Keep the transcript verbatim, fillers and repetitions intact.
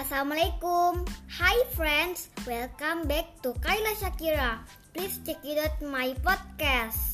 Assalamualaikum. Hi friends, welcome back to Kaila Shakira. Please check it out my podcast.